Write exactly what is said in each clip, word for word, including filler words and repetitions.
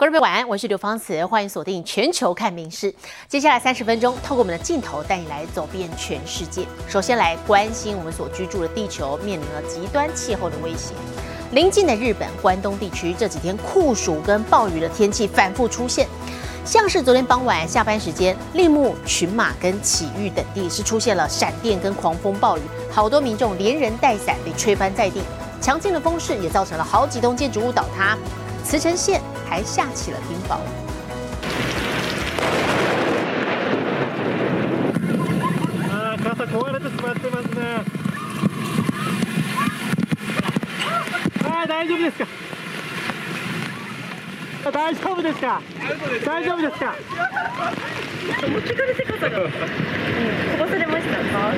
观众朋友晚安，我是刘芳慈，欢迎锁定全球看名事。接下来三十分钟，透过我们的镜头带你来走遍全世界。首先来关心我们所居住的地球面临了极端气候的威胁。邻近的日本关东地区这几天酷暑跟暴雨的天气反复出现，像是昨天傍晚下班时间，立木、群马跟埼玉等地是出现了闪电跟狂风暴雨，好多民众连人带伞被吹翻在地。强劲的风势也造成了好几栋建筑物倒塌，茨城县还下起了冰雹。 あー、傘壊れてしまってますね。あー、大丈夫ですか。大丈夫ですか。大丈夫ですか。 持ってかれて傘が、うん、飛ばされましたか。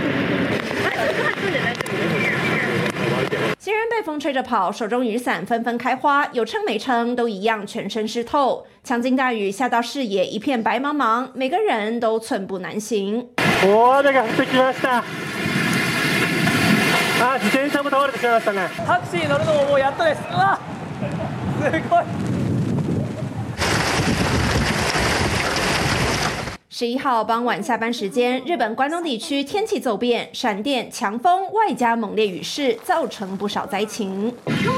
行人被风吹着跑，手中雨伞纷纷开花，有撑没撑都一样，全身湿透。强劲大雨下到视野一片白茫茫，每个人都寸步难行。 大雨が降ってきました。あ、自転車も倒れてしまいましたね。タクシー乗るのももうやっとです。うわ、すごい。 十一号傍晚下班时间，日本关东地区天气骤变，闪电、强风外加猛烈雨势，造成不少灾情。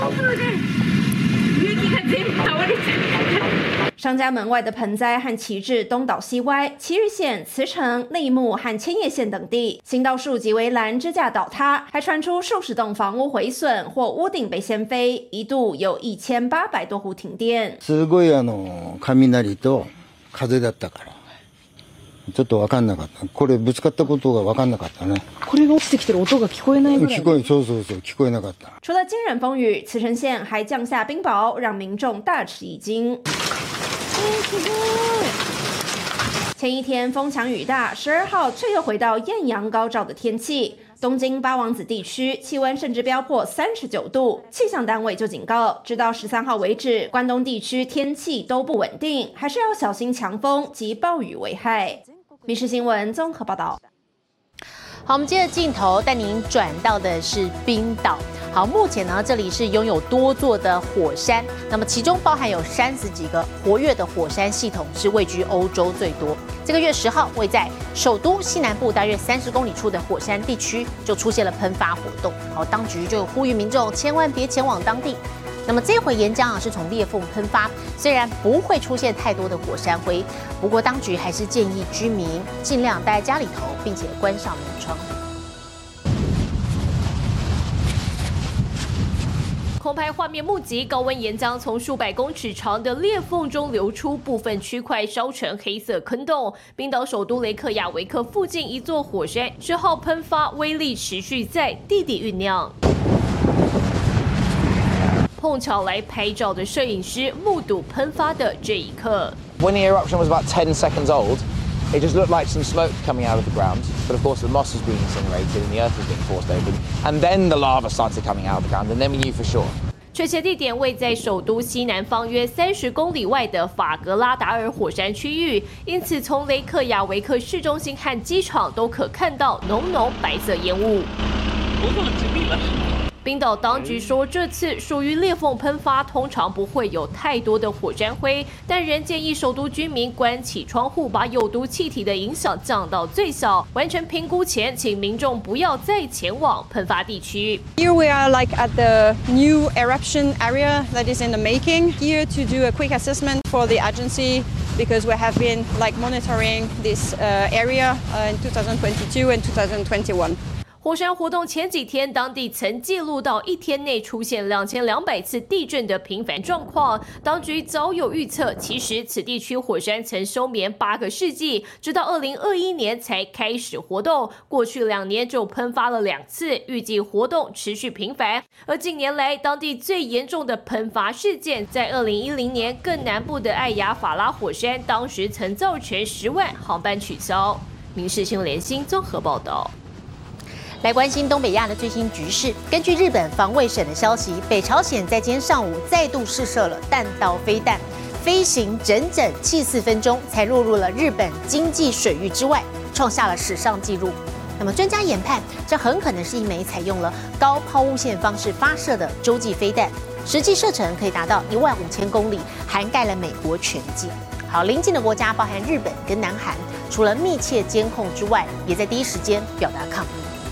商家门外的盆栽和旗帜东倒西歪，埼玉县、茨城、立木和千叶县等地行道树及围栏支架倒塌，还传出数十栋房屋毁损或屋顶被掀飞，一度有一千八百多户停電。 すごいあの雷と風だったから。ちょっと分かんなかった。これぶつかったことが分かんなかったね。 これが落ちてきてる音が聞こえないぐらい。 聞こえ、そうそうそう、聞こえなかった。 除了惊人风雨，茨城县还降下冰雹，让民众大吃一惊。前一天风强雨大，十二号却又回到艳阳高照的天气。东京八王子地区气温甚至飙破三十九度，气象单位就警告，直到十三号为止，关东地区天气都不稳定，还是要小心强风及暴雨危害。民视新闻综合报道。 好，我们接着镜头带您转到的是冰岛。好，目前呢，这里是拥有多座的火山，那么其中包含有三十几个活跃的火山系统，是位居欧洲最多。这个月十号，位在首都西南部大约三十公里处的火山地区就出现了喷发活动。好，当局就呼吁民众千万别前往当地。那么这回岩浆啊是从裂缝喷发，虽然不会出现太多的火山灰，不过当局还是建议居民尽量待在家里头，并且关上门窗。 空拍画面目击高温岩浆从数百公尺长的裂缝中流出，部分区块烧成黑色坑洞。冰岛首都雷克雅维克附近一座火山十号喷发，威力持续在地底酝酿。碰巧来拍照的摄影师目睹喷发的这一刻。 When the eruption was about ten seconds old, it just looked like some smoke coming out of the ground. But of course, the moss was being incinerated and the earth was being forced open. And then the lava started coming out of the ground, and then we knew for sure. 确切地点位在首都西南方约三十公里外的法格拉达尔火山区域，因此从雷克雅维克市中心和机场都可看到浓浓白色烟雾。冰岛当局说，这次属于裂缝喷发，通常不会有太多的火山灰，但仍建议首都居民关起窗户，把有毒气体的影响降到最小。完成评估前，请民众不要再前往喷发地区。 Here we are like at the new eruption area that is in the making. Here to do a quick assessment for the agency because we have been like monitoring this uh, area uh, in twenty twenty-two and twenty twenty-one. 火山活动前几天，当地曾记录到一天内出现两千两百次地震的频繁状况。当局早有预测，其实此地区火山曾休眠八个世纪，直到二零二一年才开始活动。过去两年就喷发了两次，预计活动持续频繁。而近年来，当地最严重的喷发事件，在二零一零年更南部的艾雅法拉火山，当时曾造成十万航班取消。民视新闻联新综合报道。 来关心东北亚的最新局势。根据日本防卫省的消息，北朝鲜在今天上午再度试射了弹道飞弹，飞行整整七十四分钟才落入了日本经济水域之外，创下了史上纪录。那么专家研判，这很可能是一枚采用了高抛物线方式发射的洲际飞弹。 实际射程可以达到一万五千公里，涵盖了美国全境。好，邻近的国家包含日本跟南韩，除了密切监控之外，也在第一时间表达抗议。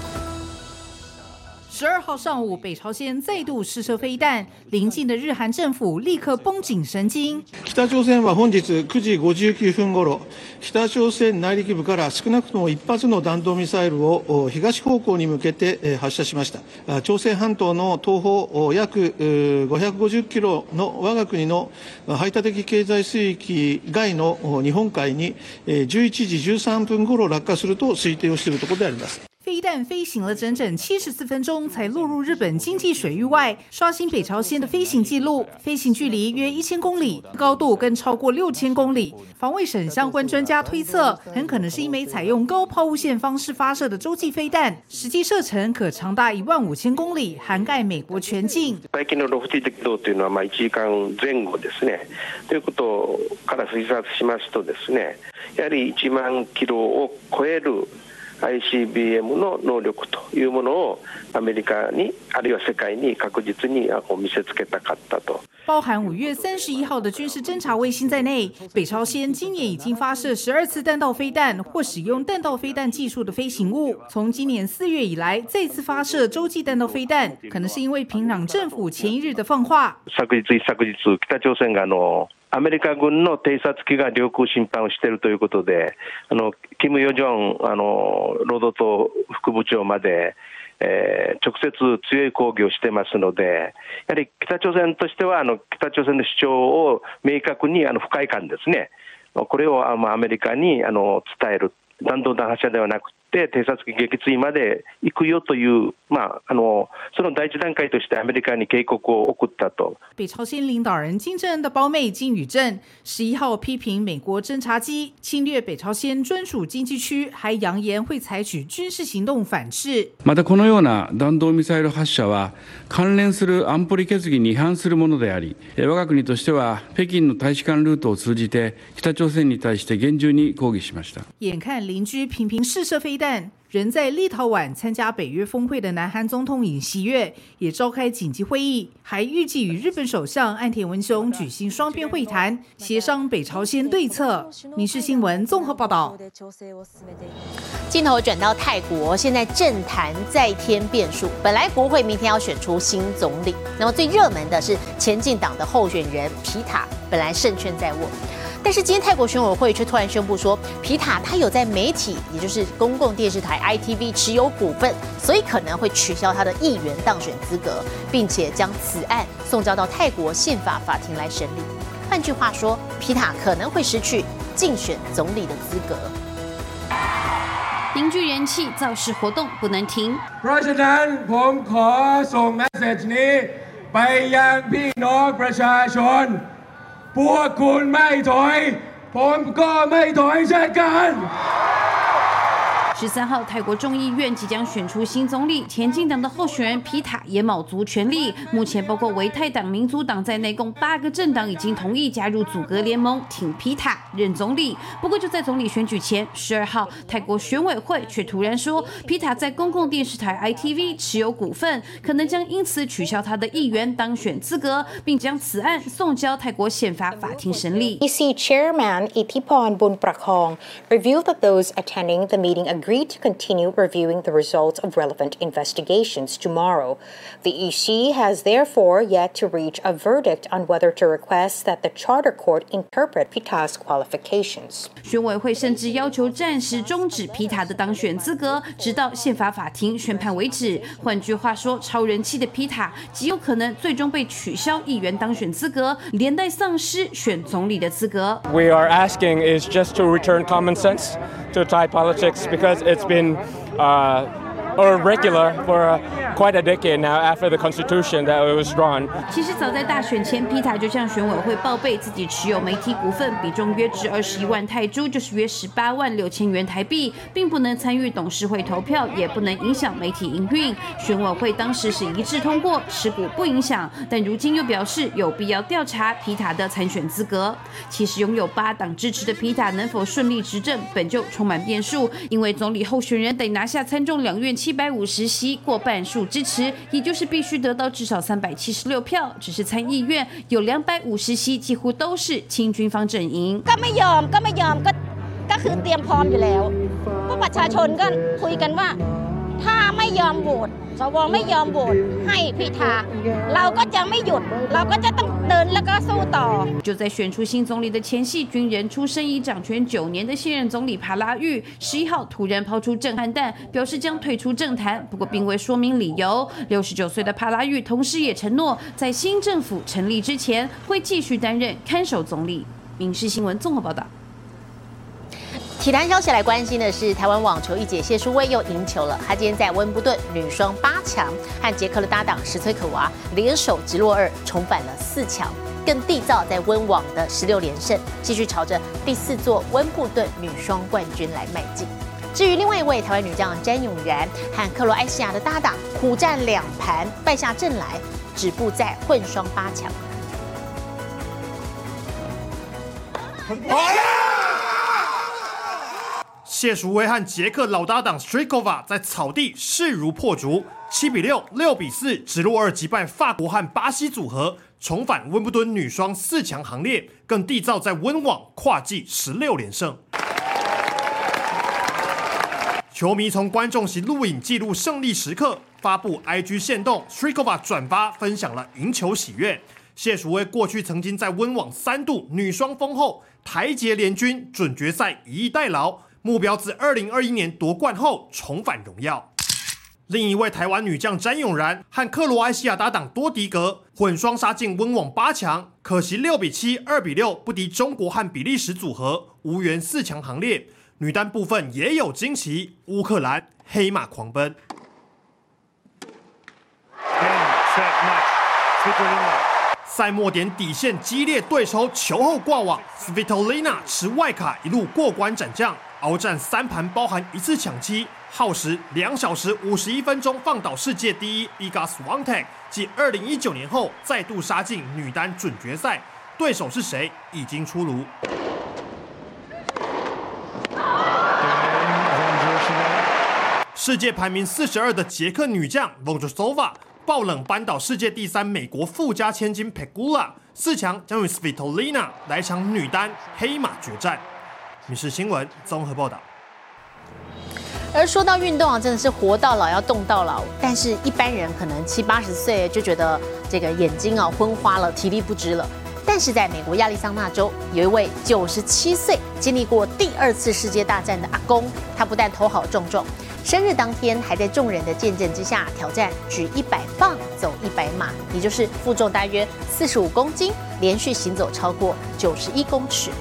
十二号上午，北朝鲜再度试射飞弹，邻近的日韩政府立刻绷紧神经。 北朝鮮は本日くじごじゅうきゅうふん頃、北朝鮮内陸部から少なくとも一発の弾道ミサイルを東方向に向けて発射しました。朝鮮半島の東方約ごひゃくごじゅっキロの我が国の排他的経済水域外の日本海にじゅういちじじゅうさんぷん頃落下すると推定をしているところであります。 飞弹飞行了整整七十四分钟，才落入日本经济水域外，刷新北朝鲜的飞行记录。飞行距离约一千公里，高度更超过六千公里。防卫省相关专家推测，很可能是一枚采用高抛物线方式发射的洲际飞弹，实际射程可长达一万五千公里，涵盖美国全境。 最近のロフティ軌道というのはまあいちじかんぜん後ですね。ということから推察しますとですね、やはりいちまんキロを超える。アイシービーエム の能力というものをアメリカにあるいは世界に確実に見せつけたかったと。 包含五月三十一号的军事侦察卫星在内，北朝鲜今年已经发射十二次弹道飞弹或使用弹道飞弹技术的飞行物。从今年四月以来，再次发射洲际弹道飞弹，可能是因为平壤政府前一日的放话。 昨日一昨日北朝鮮があのアメリカ軍の偵察機が領空侵犯をしているということで、あのキム・ヨジョンあの労働党副部長まで、えー、直接強い抗議をしてますので、やはり北朝鮮としてはあの北朝鮮の主張を明確にあの不快感ですね。これをあのアメリカにあの伝える。弾道弾発射ではなくて偵察機撃墜まで行くよという、まあ、あのその第一段階としてアメリカに警告を送ったと。 北朝鲜领导人金正恩的胞妹金宇镇十一号批评美国侦察機侵略北朝鮮專屬經濟區，還揚言會採取軍事行動反制。 またこのような弾道ミサイル発射は関連する安保理決議に違反するものであり、我が国としては北京の大使館ルートを通じて北朝鮮に対して厳重に抗議しました。 眼看邻居频频试射飞弹，人在立陶宛参加北约峰会的南韩总统尹锡悦也召开紧急会议，还预计与日本首相岸田文雄举行双边会谈，协商北朝鲜对策。民视新闻综合报道。 镜头转到泰国，现在政坛再添变数。本来国会明天要选出新总理，那么最热门的是前进党的候选人皮塔，本来胜券在握。但是今天泰国选委会却突然宣布说，皮塔他有在媒体，也就是公共电视台 I T V 持有股份，所以可能会取消他的议员当选资格，并且将此案送交到泰国宪法法庭来审理。换句话说，皮塔可能会失去竞选总理的资格。 凝聚人气，造势活动不能停。 เพราะฉะนั้นผมขอส่งเมสเซจนี้ไปยังพี่น้องประชาชนพวกคุณไม่ถอยผมก็ไม่ถอยเช่นกัน十三号，泰国众议院即将选出新总理，前进党的候选人皮塔也卯足全力。目前，包括维泰党、民族党在内，共八个政党已经同意加入组阁联盟，挺皮塔任总理。不过，就在总理选举前，十二号，泰国选委会却突然说，皮塔在公共电视台 I T V 持有股份，可能将因此取消他的议员当选资格，并将此案送交泰国宪法法庭审理。 E C Chairman Ithipon Bunprakong revealed that those attending the meeting agreed to continue reviewing the results of relevant investigations tomorrow. The E C has therefore yet to reach a verdict on whether to request that the Charter Court interpret Pita's qualifications. 选委会甚至要求暂时终止皮塔的当选资格，直到宪法法庭宣判为止。换句话说，超人气的皮塔极有可能最终被取消议员当选资格，连带丧失选总理的资格。 We are asking is just to return common sense to Thai politics because it's been uh, or regular for uh, quite a decade now after the constitution that it was drawn. 其实早在大选前，皮塔就向选委会报备自己持有媒体股份，比重约值二十一万泰铢，就是约十八万六千元台币，并不能参与董事会投票，也不能影响媒体营运。选委会当时是一致通过，持股不影响，但如今又表示有必要调查皮塔的参选资格。其实拥有八党支持的皮塔能否顺利执政，本就充满变数，因为总理候选人得拿下参众两院七百五十席，过半数支持，也就是必须得到至少三百七十六票。只是参议院有两百五十席，几乎都是亲军方阵营。 ก็ไม่ยอมก็ไม่ยอมก็ก็คือเตรียมพร้อมอยู่แล้วเพราะประชาชนก็คุยกันว่าถ้าไม่ยอมโหวตสวไม่ยอมโหวตให้พิธาเราก็จะไม่หยุดเราก็จะต้องเดินแล้วก็สู้ต่อ就在选出新总理的前夕，军人出身已掌权九年的现任总理帕拉育十一号突然抛出震撼弹，表示将退出政坛，不过并未说明理由。六十九岁的帕拉育同时也承诺，在新政府成立之前会继续担任看守总理。民视新闻综合报道。 体坛消息来关心的是，台湾网球一姐谢淑薇又赢球了。她今天在温布顿女双八强，和捷克的搭档石崔可娃联手直落二，重返了四强，更缔造在温网的十六连胜，继续朝着第四座温布顿女双冠军来迈进。至于另外一位台湾女将詹永然和克罗埃西亚的搭档苦战两盘，败下阵来，止步在混双八强。 谢淑薇和捷克老搭档 Strikova 在草地势如破竹，七比六、六比四直落二击败法国和巴西组合，重返温布顿女双四强行列，更缔造在温网跨季十六连胜。球迷从观众席录影记录胜利时刻，发布 I G 限动 ，Strikova 转发分享了赢球喜悦。谢淑薇过去曾经在温网三度女双封后，台捷联军准决赛以逸待劳。目标自二零二一年夺冠后重返荣耀。另一位台湾女将詹永然和克罗埃西亚搭档多迪格混双杀进温网八强，可惜六比七、二比六不敌中国和比利时组合，无缘四强行列。女单部分也有惊喜，乌克兰黑马狂奔。赛末点底线激烈对手球后挂网 ，Svitolina 持外卡一路过关斩将，鏖战三盘包含一次抢七，耗时两小时五十一分钟，放倒世界第一 Iga Swiatek， 继二零一九年后再度杀进女单准决赛，对手是谁已经出炉。世界排名四十二的捷克女将 Vondrousova。爆冷扳倒世界第三美国富家千金 Pegula， 四强将与 Svitolina 来场女单黑马决战。民视新闻综合报道。 而说到运动啊，真的是活到老要动到老，但是一般人可能七八十岁就觉得这个眼睛啊昏花了，体力不支了。但是在美国亚利桑那州，有一位九十七岁经历过第二次世界大战的阿公，他不但头好壮壮，生日当天还在众人的见证之下挑战举一百磅走一百码，也就是负重大约四十五公斤，连续行走超过九十一公尺。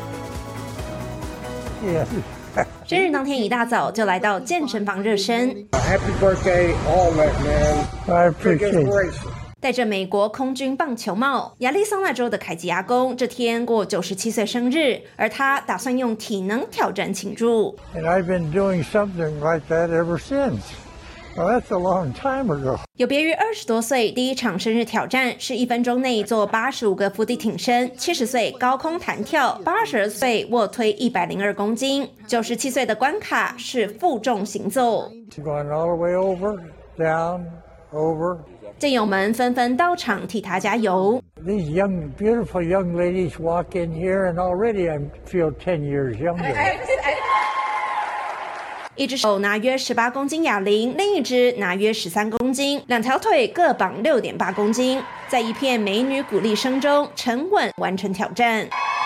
生日当天一大早就来到健身房热身。 Happy birthday, all that man. I appreciate it. 戴着美国空军棒球帽，亚利桑那州的凯吉阿公这天过九十七岁生日，而他打算用体能挑战庆祝。 And I've been doing something like that ever since. Well, that's a long time ago. 有别于二十多岁第一场生日挑战是一分钟内做八十五个伏地挺身，七十岁高空弹跳，八十二岁卧推一百零二公斤，九十七岁的关卡是负重行走。 Going all the way over, down, over. 战友们纷纷到场替他加油。 These young, beautiful young ladies walk in here, and already I feel ten years younger. 一只手拿约十八公斤哑铃，另一只拿约十三公斤，两条腿各绑六点八公斤，在一片美女鼓励声中，沉稳完成挑战。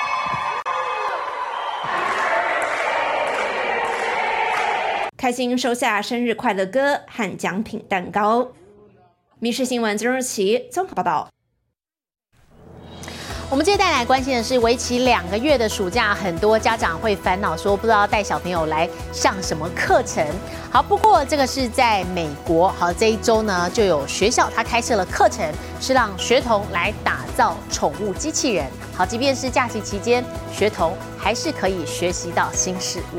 开心收下生日快乐歌和奖品蛋糕。民视新闻曾若琪综合报道。 我们接着带来关心的是，为期两个月的暑假，很多家长会烦恼说，不知道带小朋友来上什么课程。好，不过这个是在美国，好，这一周呢就有学校它开设了课程，是让学童来打造宠物机器人。好，即便是假期期间，学童还是可以学习到新事物。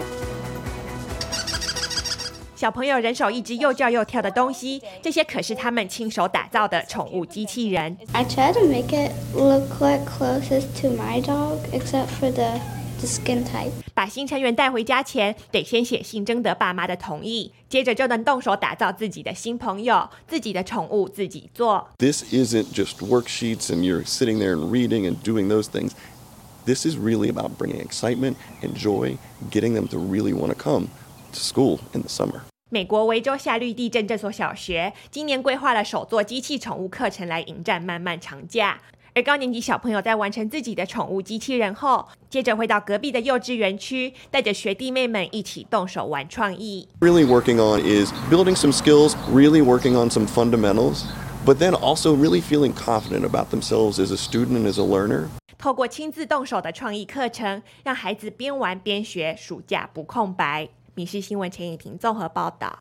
小朋友人手一只又叫又跳的东西，这些可是他们亲手打造的宠物机器人。 I try to make it look like closest to my dog, except for the the skin type. 把新成员带回家前，得先写信征得爸妈的同意，接着就能动手打造自己的新朋友，自己的宠物自己做。 This isn't just worksheets and you're sitting there and reading and doing those things. This is really about bringing excitement and joy, getting them to really want to come to school in the summer. 美国维州夏绿蒂镇这所小学今年规划了首座机器宠物课程来迎战漫漫长假。而高年级小朋友在完成自己的宠物机器人后，接着会到隔壁的幼稚园区，带着学弟妹们一起动手玩创意。 Really working on is building some skills, really working on some fundamentals, but then also really feeling confident about themselves as a student and as a learner. 透过亲自动手的创意课程，让孩子边玩边学，暑假不空白。民视新闻陈以婷综合报道。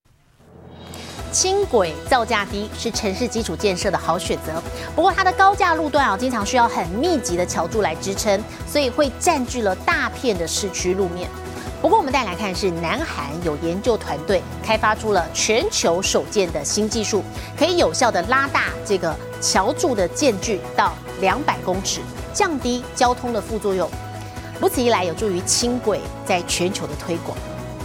轻轨造价低是城市基础建设的好选择，不过它的高架路段啊，经常需要很密集的桥柱来支撑，所以会占据了大片的市区路面。不过我们再来看的是，南韩有研究团队开发出了全球首建的新技术，可以有效的拉大这个桥柱的间距到两百公尺，降低交通的副作用。如此一来，有助于轻轨在全球的推广。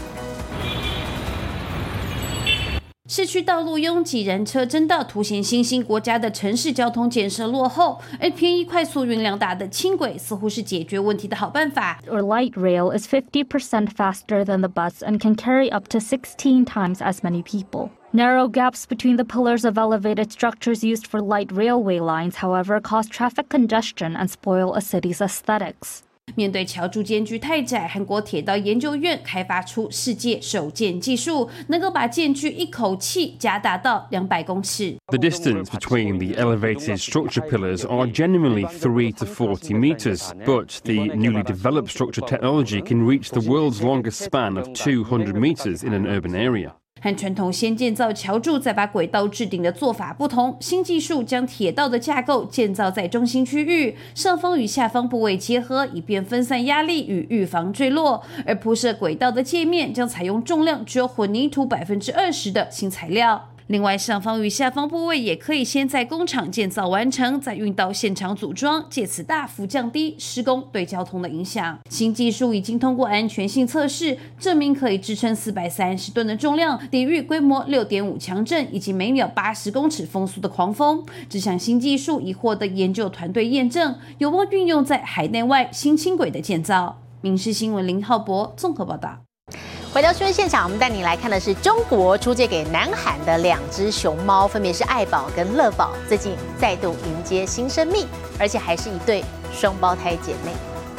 市区道路拥挤，人车争道，凸显新兴国家的城市交通建设落后。而便宜、快速、运量大的轻轨似乎是解决问题的好办法。 Or light rail is fifty percent faster than the bus and can carry up to sixteen times as many people. Narrow gaps between the pillars of elevated structures used for light railway lines, however, cause traffic congestion and spoil a city's aesthetics. 面对桥柱间距太窄，韩国铁道研究院开发出世界首建技术，能够把间距一口气加大到两百公尺。 The distance between the elevated structure pillars are genuinely three to forty meters, but the newly developed structure technology can reach the world's longest span of two hundred meters in an urban area. 和传统先建造桥柱再把轨道置顶的做法不同，新技术将铁道的架构建造在中心区域，上方与下方部位结合，以便分散压力与预防坠落。而铺设轨道的界面将采用重量只有混凝土百分之二十的新材料。另外，上方与下方部位也可以先在工厂建造完成，再运到现场组装，借此大幅降低施工对交通的影响。新技术已经通过安全性测试，证明可以支撑四百三十吨的重量，抵御规模 六点五 强震以及每秒八十公尺风速的狂风。这项新技术已获得研究团队验证，有望运用在海内外新轻轨的建造。民视新闻林浩博综合报道。 回到新闻现场，我们带你来看的是中国出借给南韩的两只熊猫，分别是爱宝跟乐宝，最近再度迎接新生命，而且还是一对双胞胎姐妹。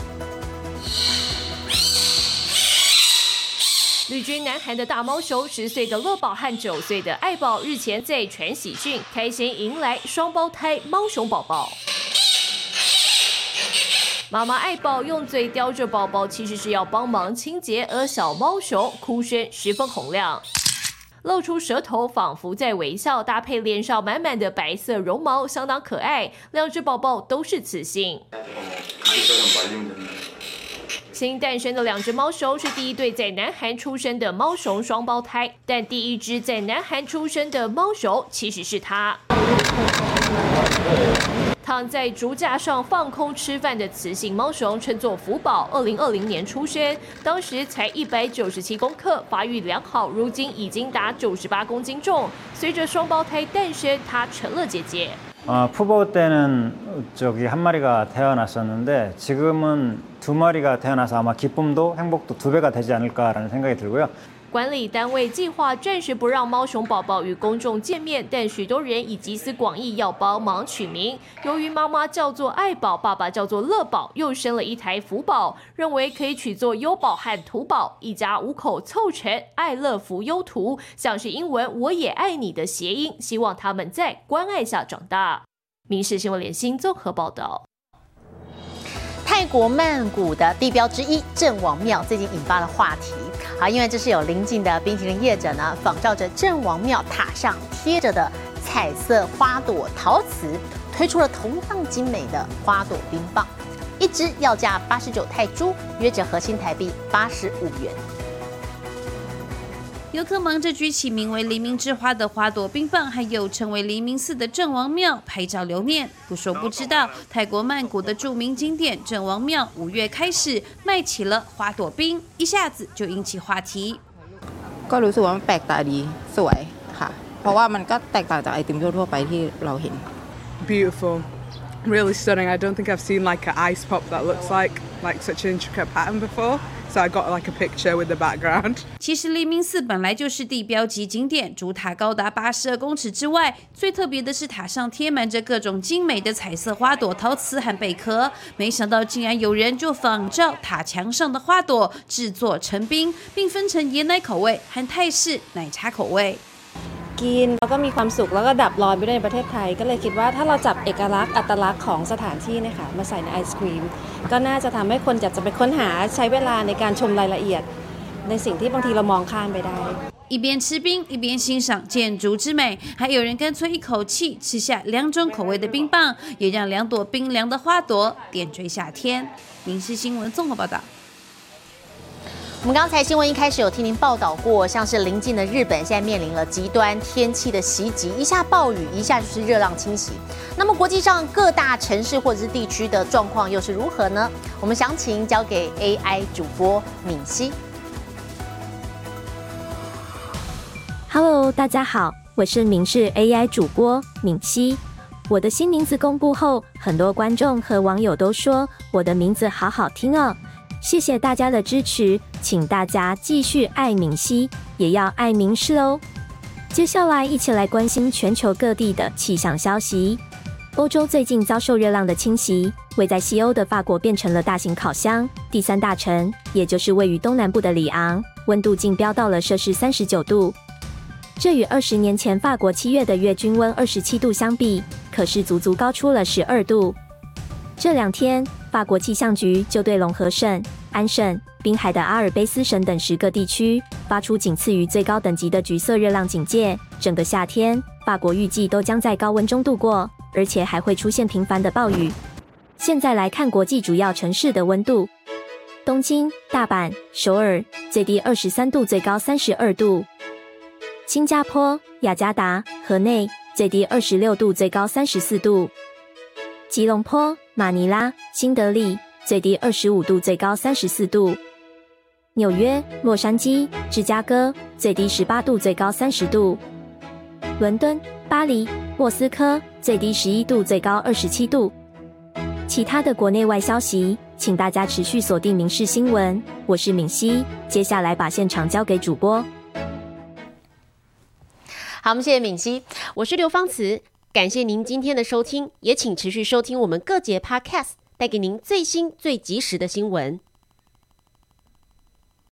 旅居南韩的大猫熊，十岁的乐宝和九岁的爱宝，日前在传喜讯开心迎来双胞胎猫熊宝宝。妈妈爱宝用嘴叼着宝宝，其实是要帮忙清洁，而小猫熊哭声十分洪亮，露出舌头，仿佛在微笑，搭配脸上满满的白色绒毛，相当可爱。两只宝宝都是雌性。新诞生的两只猫熊是第一对在南韩出生的猫熊双胞胎，但第一只在南韩出生的猫熊其实是它。躺在竹架上放空吃饭的雌性猫熊称作福宝，二零二零年出生，当时才一百九十七公克，发育良好，如今已经达九十八公斤重。随着双胞胎诞生，它成了姐姐。 어, 푸보 때는 저기 한 마리가 태어났었는데 지금은 두 마리가 태어나서 아마 기쁨도 행복도 두 배가 되지 않을까라는 생각이 들고요. 管理单位计划暂时不让猫熊宝宝与公众见面，但许多人已集思广益要帮忙取名。由于妈妈叫做爱宝，爸爸叫做乐宝，又生了一台福宝，认为可以取作优宝和图宝，一家五口凑成爱乐福优图，像是英文我也爱你的谐音，希望他们在关爱下长大。民视新闻联新综合报道。 泰国曼谷的地标之一郑王庙最近引发了话题啊，因为这是有邻近的冰淇淋业者呢，仿照着郑王庙塔上贴着的彩色花朵陶瓷，推出了同样精美的花朵冰棒，一支要价八十九泰铢，约折合新台币八十五元。 游客忙着举起名为黎明之花的花朵冰棒，还有成为黎明寺的郑王庙拍照留念。不说不知道，泰国曼谷的著名景点郑王庙五月开始卖起了花朵冰，一下子就引起话题。 ก็รู้สึกว่ามันแปลกตาดีสวยค่ะเพราะว่ามันก็แตกต่างจากไอติมทั่วๆไปที่เราเห็น Beautiful, really stunning. I don't think I've seen like an ice pop that looks like like such an intricate pattern before. So I got like a picture with the background. 其实黎明寺本来就是地标级景点，主塔高达八十二公尺之外，最特别的是塔上贴满着各种精美的彩色花朵、陶瓷和贝壳。没想到竟然有人就仿照塔墙上的花朵制作成冰，并分成椰奶口味和泰式奶茶口味。 กินแล้วก็มีความสุขแล้วก็ดับร้อนไปด้วยในประเทศไทยก็เลยคิดว่าถ้าเราจับเอกลักษณ์อัตลักษณ์ของสถานที่เนี่ยค่ะมาใส่ในไอศครีมก็น่าจะทำให้คนอยากจะไปค้นหาใช้เวลาในการชมรายละเอียดในสิ่งที่บางทีเรามองข้ามไปได้一边吃冰一边欣赏建筑之美，还有人干脆一口气吃下两种口味的冰棒，也让两朵冰凉的花朵点缀夏天。民视新闻综合报道。 我们刚才新闻一开始有听您报道过，像是邻近的日本现在面临了极端天气的袭击，一下暴雨，一下就是热浪侵袭。那么国际上各大城市或者是地区的状况又是如何呢？我们详情交给 A I 主播敏熙。 Hello， 大家好，我是民视 A I 主播敏熙。我的新名字公布后，很多观众和网友都说我的名字好好听哦。谢谢大家的支持，请大家继续爱敏熙，也要爱民视哦。接下来一起来关心全球各地的气象消息。欧洲最近遭受热浪的侵袭，位在西欧的法国变成了大型烤箱，第三大城，也就是位于东南部的里昂，温度竟飙到了摄氏三十九度。这与二十年前法国七月的月均温二十七度相比，可是足足高出了十二度。这两天，法国气象局就对龙河省、安省、滨海的阿尔卑斯省等十个地区发出仅次于最高等级的橘色热浪警戒。整个夏天，法国预计都将在高温中度过，而且还会出现频繁的暴雨。现在来看国际主要城市的温度：东京、大阪、首尔，最低二十三度，最高三十二度；新加坡、雅加达、河内，最低二十六度，最高三十四度；吉隆坡、马尼拉、新德里，最低二十五度，最高三十四度；纽约、洛杉矶、芝加哥，最低十八度，最高三十度；伦敦、巴黎、莫斯科，最低十一度，最高二十七度。其他的国内外消息，请大家持续锁定民视新闻。我是敏熙，接下来把现场交给主播。 好，我们谢谢敏熙， 我是刘芳慈。感谢您今天的收听，也请持续收听我们各节 Podcast， 带给您最新最及时的新闻。